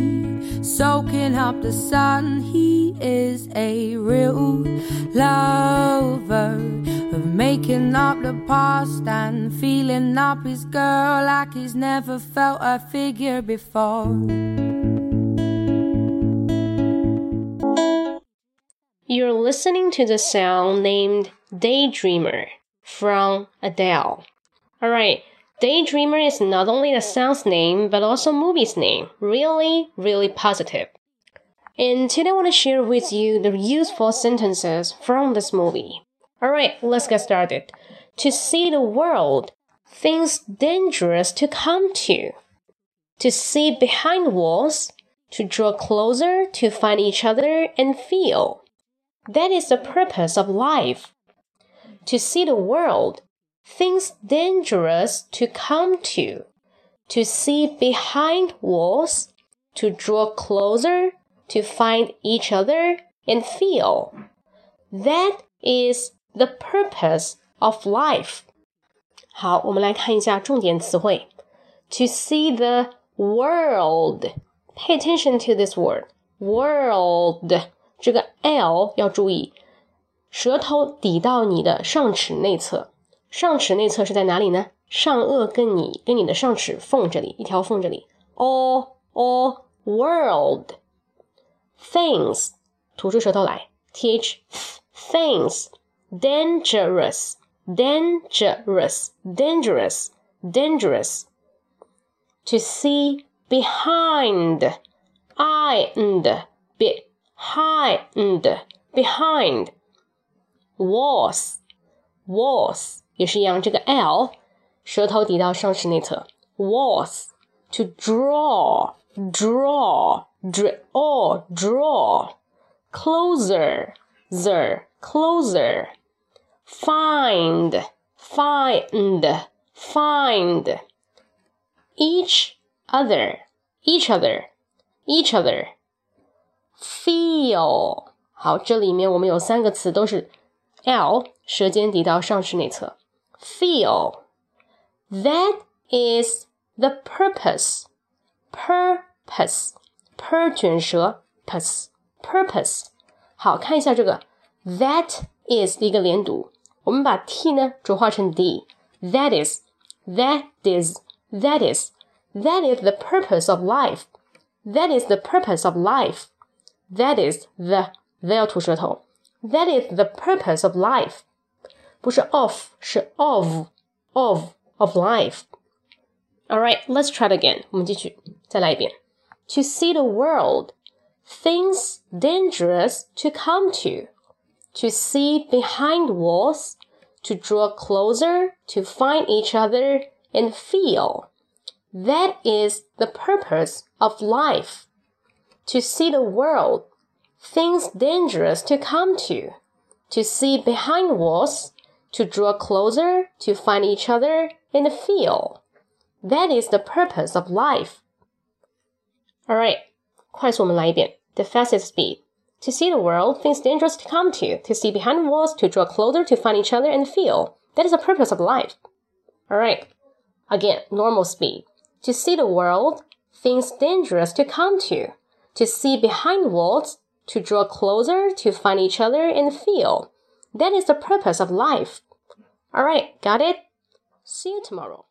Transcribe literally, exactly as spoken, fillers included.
soaking up the sun. He is a real lover of making up the past and feeling up his girl like he's never felt a figure before. You're listening to the song named Daydreamer from Adele. Alright, Daydreamer is not only the song's name but also movie's name. Really, really positive. And today I want to share with you the useful sentences from this movie. Alright, let's get started. To see the world, things dangerous to come to. To see behind walls, to draw closer, to find each other and feel.That is the purpose of life. To see the world, things dangerous to come to. To see behind walls, to draw closer, to find each other and feel. That is the purpose of life. 好，我们来看一下重点词汇。To see the world. Pay attention to this word. World.这个 L 要注意，舌头抵到你的上齿内侧，上齿内侧是在哪里呢？上颚跟你跟你的上齿缝这里，一条缝这里。O O world things 吐出舌头来 th things dangerous dangerous dangerous dangerous to see behind I and behind behind walls walls 也是一样，这个 L 舌头抵到上齿内侧 walls to draw draw draw draw closer zer closer find find find each other each other each other feel 好，这里面我们有三个词都是 L 舌尖抵到上齿内侧 feel that is the purpose purpose per 卷舌 purpose purpose 好，看一下这个 that is 的一个连读，我们把 t 呢浊化成 d that is that is that is that is the purpose of life that is the purpose of life That is the, the 要吐舌头 That is the purpose of life 不是 of 是 of of of life Alright, let's try it again 我们继续再来一遍 To see the world Things dangerous to come to To see behind walls To draw closer To find each other And feel That is the purpose of life To see the world, things dangerous to come to. To see behind walls, to draw closer, to find each other and feel. That is the purpose of life. Alright, 快速我们来一遍 The fastest speed. To see the world, things dangerous to come to. To see behind walls, to draw closer, to find each other and feel. That is the purpose of life. Alright, again, normal speed. To see the world, things dangerous to come to.To see behind walls, to draw closer, to find each other and feel. That is the purpose of life. Alright, got it? See you tomorrow.